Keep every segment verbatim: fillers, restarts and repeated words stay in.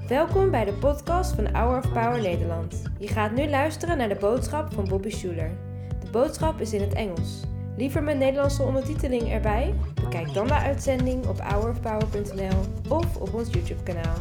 Welkom bij de podcast van Hour of Power Nederland. Je gaat nu luisteren naar de boodschap van Bobby Schuler. De boodschap is in het Engels. Liever met Nederlandse ondertiteling erbij? Bekijk dan de uitzending op hour of power punt n l of op ons YouTube-kanaal.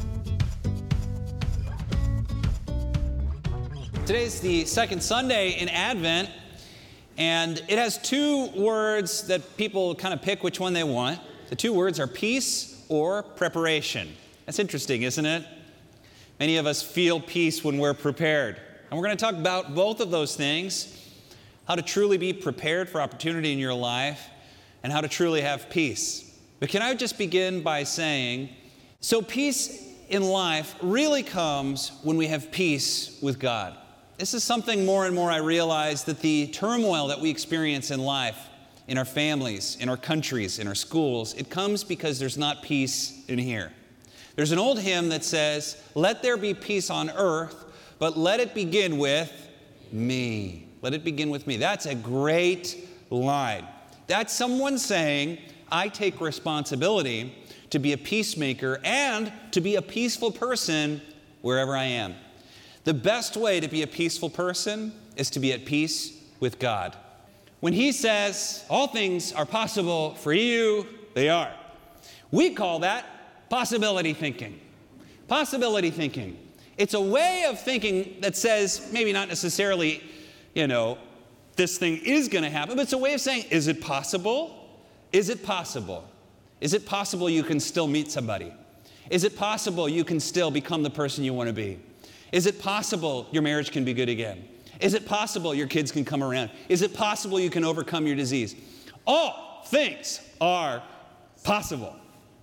Today is the second Sunday in Advent, and it has two words that people kind of pick which one they want. The two words are peace or preparation. That's interesting, isn't it? Many of us feel peace when we're prepared. And we're going to talk about both of those things, how to truly be prepared for opportunity in your life, and how to truly have peace. But can I just begin by saying, so peace in life really comes when we have peace with God. This is something more and more I realize, that the turmoil that we experience in life, in our families, in our countries, in our schools, it comes because there's not peace in here. There's an old hymn that says, "Let there be peace on earth, but let it begin with me." Let it begin with me. That's a great line. That's someone saying, I take responsibility to be a peacemaker and to be a peaceful person wherever I am. The best way to be a peaceful person is to be at peace with God. When He says, all things are possible for you, they are. We call that possibility thinking. Possibility thinking. It's a way of thinking that says, maybe not necessarily, you know, this thing is going to happen, but it's a way of saying, is it possible? Is it possible? Is it possible you can still meet somebody? Is it possible you can still become the person you want to be? Is it possible your marriage can be good again? Is it possible your kids can come around? Is it possible you can overcome your disease? All things are possible.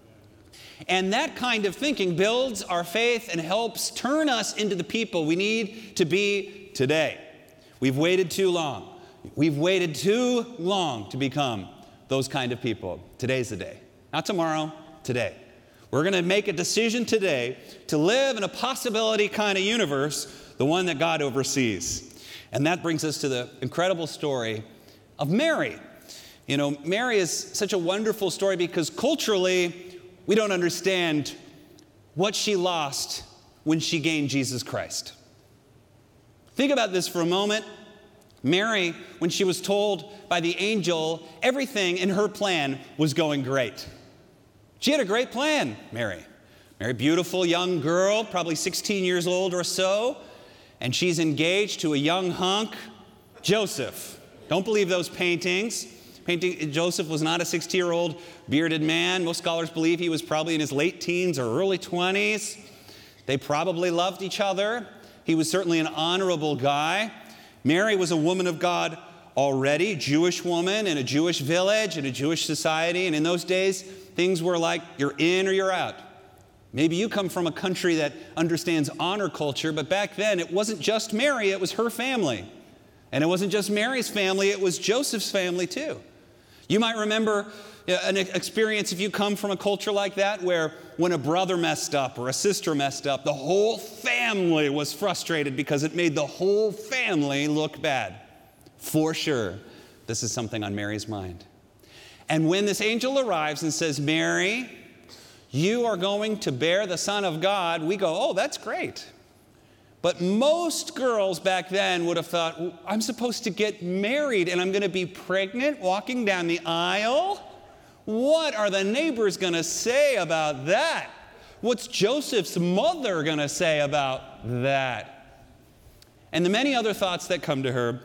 And that kind of thinking builds our faith and helps turn us into the people we need to be today. We've waited too long. We've waited too long to become those kind of people. Today's the day. Not tomorrow, today. We're going to make a decision today to live in a possibility kind of universe, the one that God oversees. And that brings us to the incredible story of Mary. You know, Mary is such a wonderful story because culturally, we don't understand what she lost when she gained Jesus Christ. Think about this for a moment. Mary, when she was told by the angel, everything in her plan was going great. She had a great plan, Mary. Mary, beautiful young girl, probably sixteen years old or so, and she's engaged to a young hunk, Joseph. Don't believe those paintings. Painting, Joseph was not a sixty-year-old bearded man. Most scholars believe he was probably in his late teens or early twenties. They probably loved each other. He was certainly an honorable guy. Mary was a woman of God already, Jewish woman in a Jewish village, in a Jewish society. And in those days, things were like you're in or you're out. Maybe you come from a country that understands honor culture, but back then it wasn't just Mary, it was her family. And it wasn't just Mary's family, it was Joseph's family too. You might remember an experience if you come from a culture like that where when a brother messed up or a sister messed up, the whole family was frustrated because it made the whole family look bad. For sure, this is something on Mary's mind. And when this angel arrives and says, Mary, you are going to bear the Son of God, we go, oh, that's great. But most girls back then would have thought, I'm supposed to get married and I'm going to be pregnant walking down the aisle? What are the neighbors going to say about that? What's Joseph's mother going to say about that? And the many other thoughts that come to her,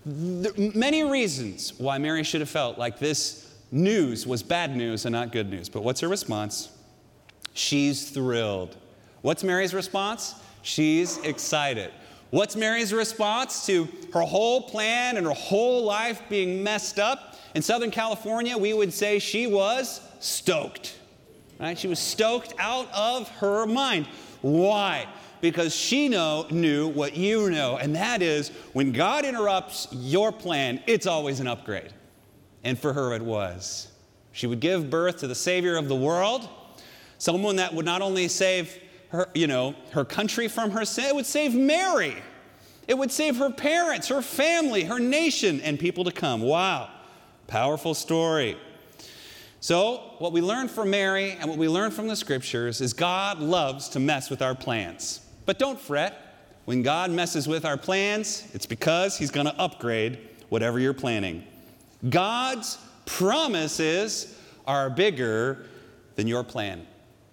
many reasons why Mary should have felt like this news was bad news and not good news. But what's her response? She's thrilled. What's Mary's response? She's excited. What's Mary's response to her whole plan and her whole life being messed up? In Southern California, we would say she was stoked. Right? She was stoked out of her mind. Why? Because she know, knew what you know, and that is when God interrupts your plan, it's always an upgrade. And for her it was. She would give birth to the Savior of the world, someone that would not only save her, you know, her country from her sin, it would save Mary. It would save her parents, her family, her nation, and people to come. Wow. Powerful story. So what we learn from Mary and what we learn from the scriptures is God loves to mess with our plans. But don't fret. When God messes with our plans, it's because he's going to upgrade whatever you're planning. God's promises are bigger than your plan.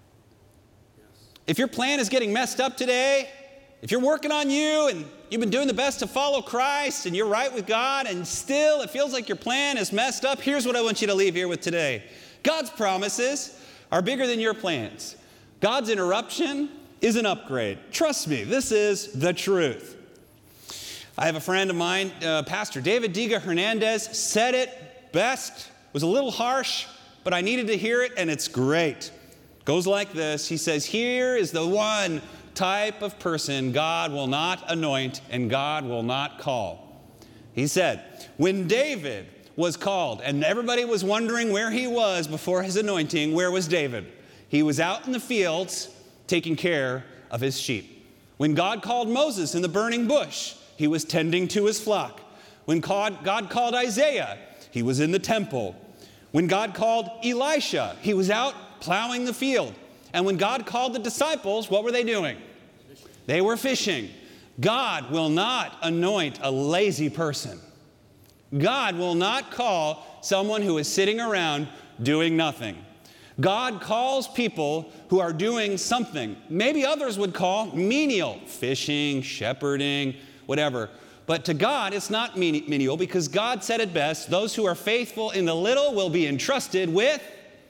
If your plan is getting messed up today, if you're working on you and you've been doing the best to follow Christ and you're right with God and still it feels like your plan is messed up, here's what I want you to leave here with today. God's promises are bigger than your plans. God's interruption is an upgrade. Trust me, this is the truth. I have a friend of mine, uh, Pastor David Diga Hernandez, said it best. It was a little harsh, but I needed to hear it, and it's great. Goes like this. He says, here is the one type of person God will not anoint and God will not call. He said, when David was called and everybody was wondering where he was before his anointing, where was David? He was out in the fields taking care of his sheep. When God called Moses in the burning bush, he was tending to his flock. When God, God called Isaiah, he was in the temple. When God called Elisha, he was out plowing the field. And when God called the disciples, what were they doing? They were fishing. God will not anoint a lazy person. God will not call someone who is sitting around doing nothing. God calls people who are doing something. Maybe others would call menial, fishing, shepherding, whatever. But to God, it's not menial because God said it best, those who are faithful in the little will be entrusted with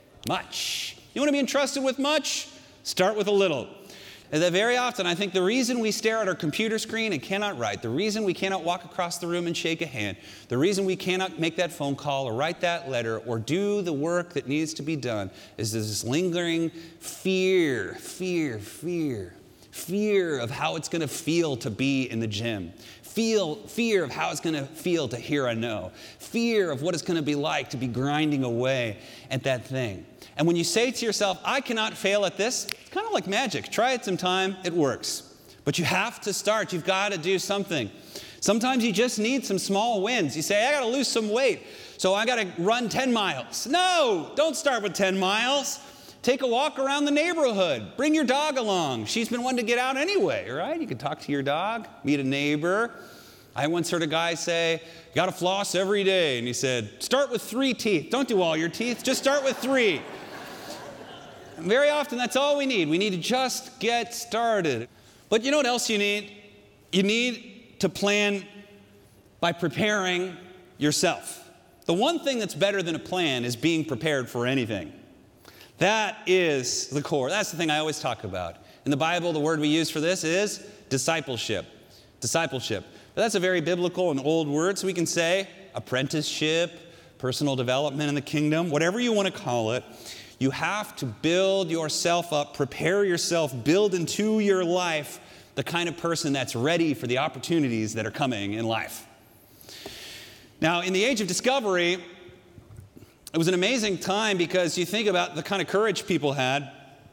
much. You want to be entrusted with much? Start with a little. And that very often, I think the reason we stare at our computer screen and cannot write, the reason we cannot walk across the room and shake a hand, the reason we cannot make that phone call or write that letter or do the work that needs to be done is this lingering fear, fear, fear, fear of how it's going to feel to be in the gym. Feel, fear of how it's going to feel to hear a no. Fear of what it's going to be like to be grinding away at that thing. And when you say to yourself, I cannot fail at this, it's kind of like magic. Try it sometime, it works. But you have to start. You've got to do something. Sometimes you just need some small wins. You say, I got to lose some weight, so I got to run ten miles. No, don't start with ten miles. Take a walk around the neighborhood. Bring your dog along. She's been wanting to get out anyway, right? You can talk to your dog, meet a neighbor. I once heard a guy say, you got to floss every day. And he said, start with three teeth. Don't do all your teeth. Just start with three. Very often, that's all we need. We need to just get started. But you know what else you need? You need to plan by preparing yourself. The one thing that's better than a plan is being prepared for anything. That is the core. That's the thing I always talk about. In the Bible, the word we use for this is discipleship. Discipleship. But that's a very biblical and old word, so we can say apprenticeship, personal development in the kingdom, whatever you want to call it. You have to build yourself up, prepare yourself, build into your life the kind of person that's ready for the opportunities that are coming in life. Now, in the age of discovery, it was an amazing time because you think about the kind of courage people had.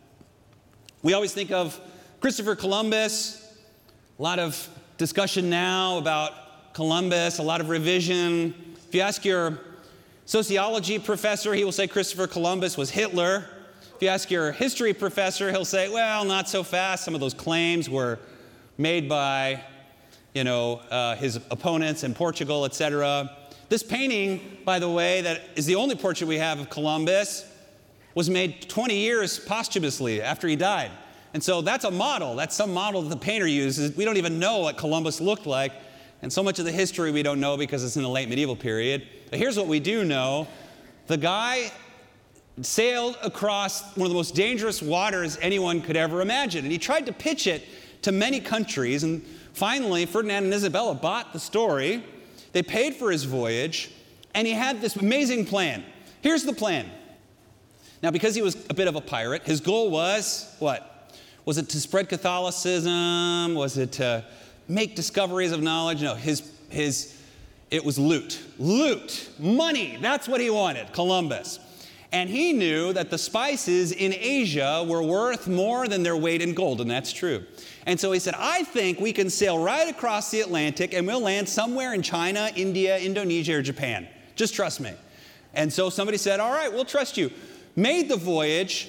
We always think of Christopher Columbus, a lot of discussion now about Columbus, a lot of revision. If you ask your sociology professor, he will say Christopher Columbus was Hitler. If you ask your history professor, he'll say, well, not so fast. Some of those claims were made by, you know, uh, his opponents in Portugal, et cetera. This painting, by the way, that is the only portrait we have of Columbus, was made twenty years posthumously after he died. And so that's a model. That's some model that the painter uses. We don't even know what Columbus looked like. And so much of the history we don't know because it's in the late medieval period. But here's what we do know. The guy sailed across one of the most dangerous waters anyone could ever imagine. And he tried to pitch it to many countries. And finally, Ferdinand and Isabella bought the story. They paid for his voyage. And he had this amazing plan. Here's the plan. Now, because he was a bit of a pirate, his goal was what? Was it to spread Catholicism? Was it to make discoveries of knowledge? No, his, his, it was loot. Loot, money, that's what he wanted, Columbus. And he knew that the spices in Asia were worth more than their weight in gold, and that's true. And so he said, I think we can sail right across the Atlantic and we'll land somewhere in China, India, Indonesia, or Japan. Just trust me. And so somebody said, all right, we'll trust you. Made the voyage,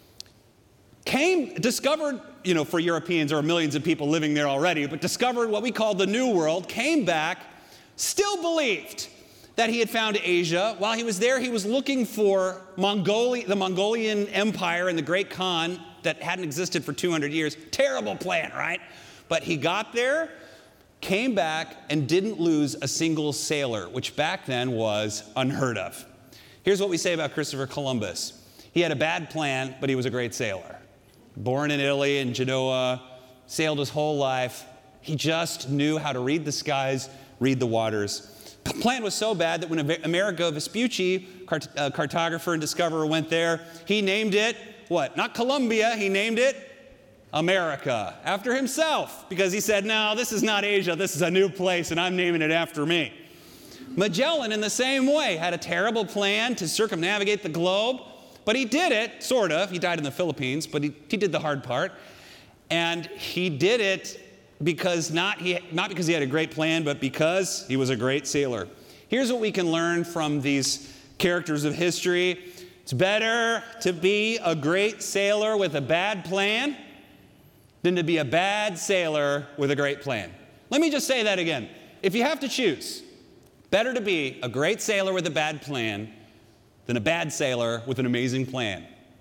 came, discovered, you know, for Europeans, there are millions of people living there already, but discovered what we call the New World, came back, still believed that he had found Asia. While he was there, he was looking for Mongolia, the Mongolian Empire and the Great Khan that hadn't existed for two hundred years. Terrible plan, right? But he got there, came back, and didn't lose a single sailor, which back then was unheard of. Here's what we say about Christopher Columbus. He had a bad plan, but he was a great sailor. Born in Italy, in Genoa, sailed his whole life. He just knew how to read the skies, read the waters. The plan was so bad that when Amerigo Vespucci, cart- uh, cartographer and discoverer, went there, he named it, what? Not Columbia, he named it America, after himself, because he said, no, this is not Asia, this is a new place, and I'm naming it after me. Magellan, in the same way, had a terrible plan to circumnavigate the globe, but he did it, sort of. He died in the Philippines, but he, he did the hard part. And he did it because not, he, not because he had a great plan, but because he was a great sailor. Here's what we can learn from these characters of history. It's better to be a great sailor with a bad plan than to be a bad sailor with a great plan. Let me just say that again. If you have to choose, better to be a great sailor with a bad plan than a bad sailor with an amazing plan.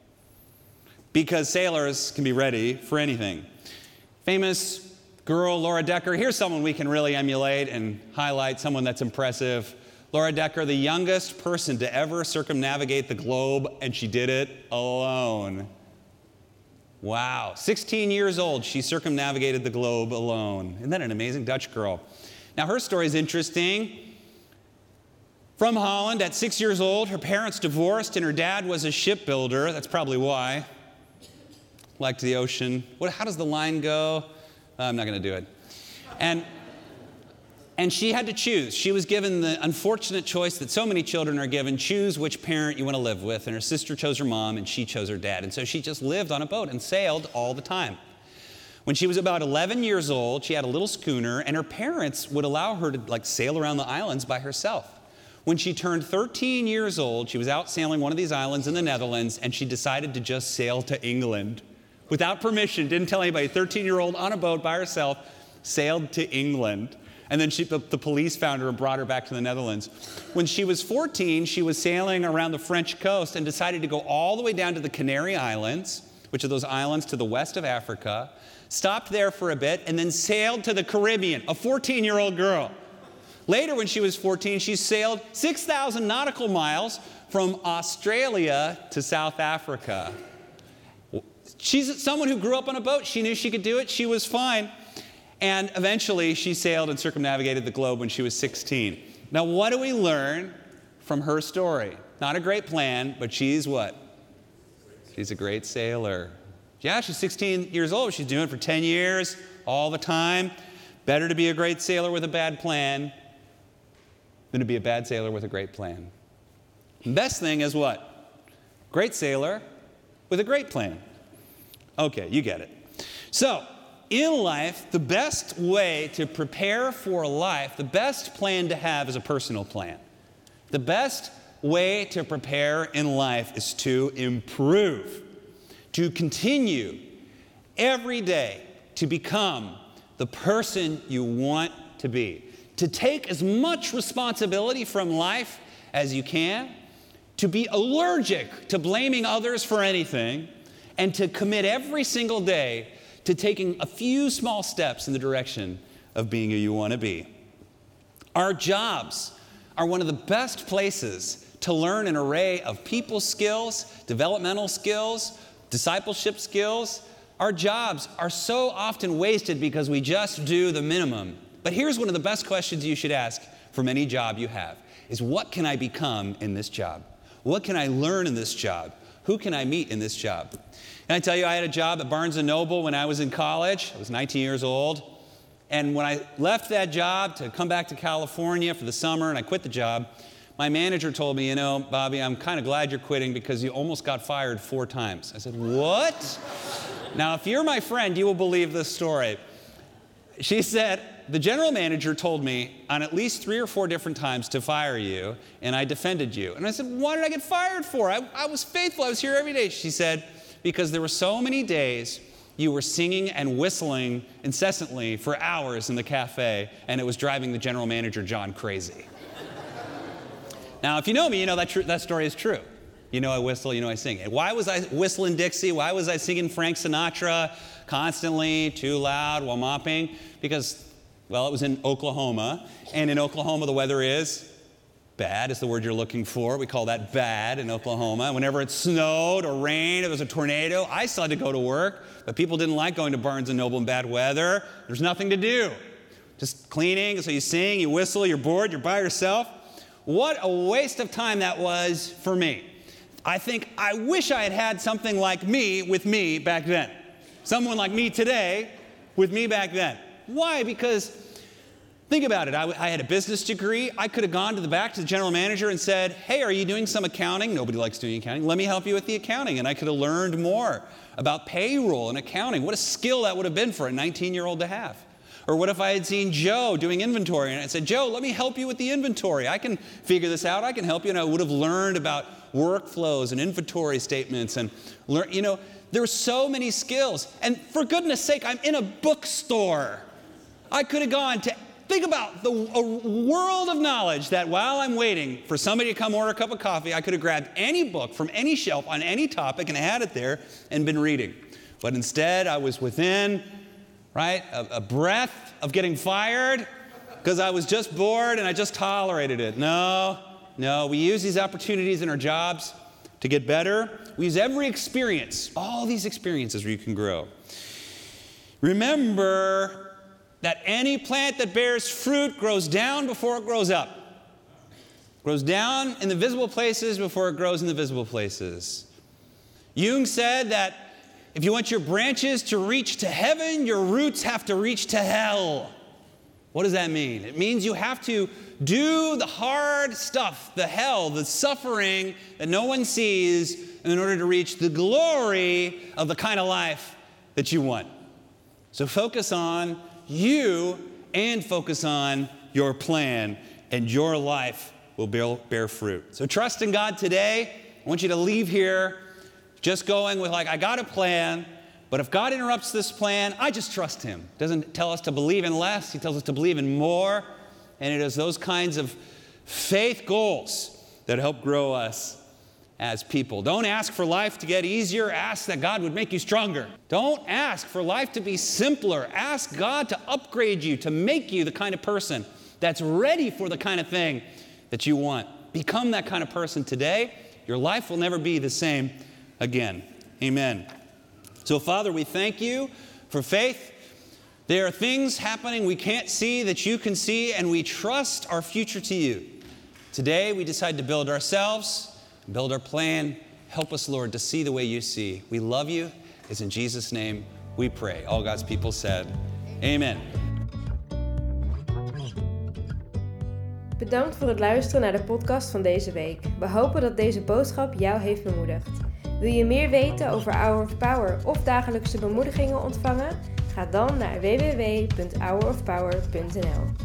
Because sailors can be ready for anything. Famous girl, Laura Decker. Here's someone we can really emulate and highlight, someone that's impressive. Laura Decker, the youngest person to ever circumnavigate the globe, and she did it alone. Wow. sixteen years old, she circumnavigated the globe alone. Isn't that an amazing Dutch girl? Now, her story is interesting. From Holland, at six years old, her parents divorced, and her dad was a shipbuilder. That's probably why. Liked the ocean. What, how does the line go? Uh, I'm not going to do it. And, and she had to choose. She was given the unfortunate choice that so many children are given. Choose which parent you want to live with. And her sister chose her mom, and she chose her dad. And so she just lived on a boat and sailed all the time. When she was about eleven years old, she had a little schooner, and her parents would allow her to like sail around the islands by herself. When she turned thirteen years old, she was out sailing one of these islands in the Netherlands, and she decided to just sail to England. Without permission, didn't tell anybody, thirteen-year-old on a boat by herself, sailed to England. And then she, the, the police found her and brought her back to the Netherlands. When she was fourteen, she was sailing around the French coast and decided to go all the way down to the Canary Islands, which are those islands to the west of Africa, stopped there for a bit, and then sailed to the Caribbean, a fourteen-year-old girl. Later, when she was fourteen, she sailed six thousand nautical miles from Australia to South Africa. She's someone who grew up on a boat. She knew she could do it. She was fine. And eventually, she sailed and circumnavigated the globe when she was sixteen. Now, what do we learn from her story? Not a great plan, but she's what? She's a great sailor. Yeah, she's sixteen years old. She's doing it for ten years, all the time. Better to be a great sailor with a bad plan than to be a bad sailor with a great plan. The best thing is what? Great sailor with a great plan. Okay, you get it. So, in life, the best way to prepare for life, the best plan to have is a personal plan. The best way to prepare in life is to improve, to continue every day to become the person you want to be, to take as much responsibility from life as you can, to be allergic to blaming others for anything, and to commit every single day to taking a few small steps in the direction of being who you want to be. Our jobs are one of the best places to learn an array of people skills, developmental skills, discipleship skills. Our jobs are so often wasted because we just do the minimum. But here's one of the best questions you should ask from any job you have, is what can I become in this job? What can I learn in this job? Who can I meet in this job? And I tell you, I had a job at Barnes and Noble when I was in college. I was nineteen years old. And when I left that job to come back to California for the summer and I quit the job, my manager told me, you know, Bobby, I'm kind of glad you're quitting because you almost got fired four times. I said, what? Now, if you're my friend, you will believe this story. she said, the general manager told me on at least three or four different times to fire you, and I defended you. And I said, why did I get fired for? I, I was faithful. I was here every day. She said, because there were so many days you were singing and whistling incessantly for hours in the cafe, and it was driving the general manager, John, crazy. Now, if you know me, you know that, tr- that story is true. You know I whistle, you know I sing. And why was I whistling Dixie? Why was I singing Frank Sinatra constantly, too loud, while mopping? Because, well, it was in Oklahoma, and in Oklahoma the weather is bad is the word you're looking for. We call that bad in Oklahoma. Whenever it snowed or rained, it was a tornado, I still had to go to work, but people didn't like going to Barnes and Noble in bad weather. There's nothing to do. Just cleaning, so you sing, you whistle, you're bored, you're by yourself. What a waste of time that was for me. I think I wish I had had something like me with me back then. Someone like me today with me back then. Why? Because think about it. I, I had a business degree. I could have gone to the back to the general manager and said, hey, are you doing some accounting? Nobody likes doing accounting. Let me help you with the accounting. And I could have learned more about payroll and accounting. What a skill that would have been for a nineteen-year-old to have. Or what if I had seen Joe doing inventory and I said, Joe, let me help you with the inventory. I can figure this out. I can help you. And I would have learned about workflows and inventory statements and learn, you know, there were so many skills. And for goodness sake, I'm in a bookstore. I could have gone to, think about the a world of knowledge that while I'm waiting for somebody to come order a cup of coffee, I could have grabbed any book from any shelf on any topic and had it there and been reading. But instead, I was within, right, a, a breath of getting fired because I was just bored and I just tolerated it. No, no, we use these opportunities in our jobs to get better. We use every experience, all these experiences where you can grow. Remember that any plant that bears fruit grows down before it grows up. Grows down in the visible places before it grows in the visible places. Jung said that if you want your branches to reach to heaven, your roots have to reach to hell. What does that mean? It means you have to do the hard stuff, the hell, the suffering that no one sees in order to reach the glory of the kind of life that you want. So focus on you and focus on your plan, and your life will bear, bear fruit. So trust in God today. I want you to leave here just going with like, I got a plan, but if God interrupts this plan, I just trust him. Doesn't tell us to believe in less. He tells us to believe in more. And it is those kinds of faith goals that help grow us as people. Don't ask for life to get easier. Ask that God would make you stronger. Don't ask for life to be simpler. Ask God to upgrade you, to make you the kind of person that's ready for the kind of thing that you want. Become that kind of person today. Your life will never be the same again. Amen. So, Father, we thank you for faith. There are things happening we can't see that you can see, and we trust our future to you. Today, we decide to build ourselves, build our plan. Help us, Lord, to see the way you see. We love you. It's in Jesus' name we pray. All God's people said, amen. Bedankt voor het luisteren naar de podcast van deze week. We hopen dat deze boodschap jou heeft bemoedigd. Wil je meer weten over Hour of Power of dagelijkse bemoedigingen ontvangen? Ga dan naar w w w punt hour of power punt n l.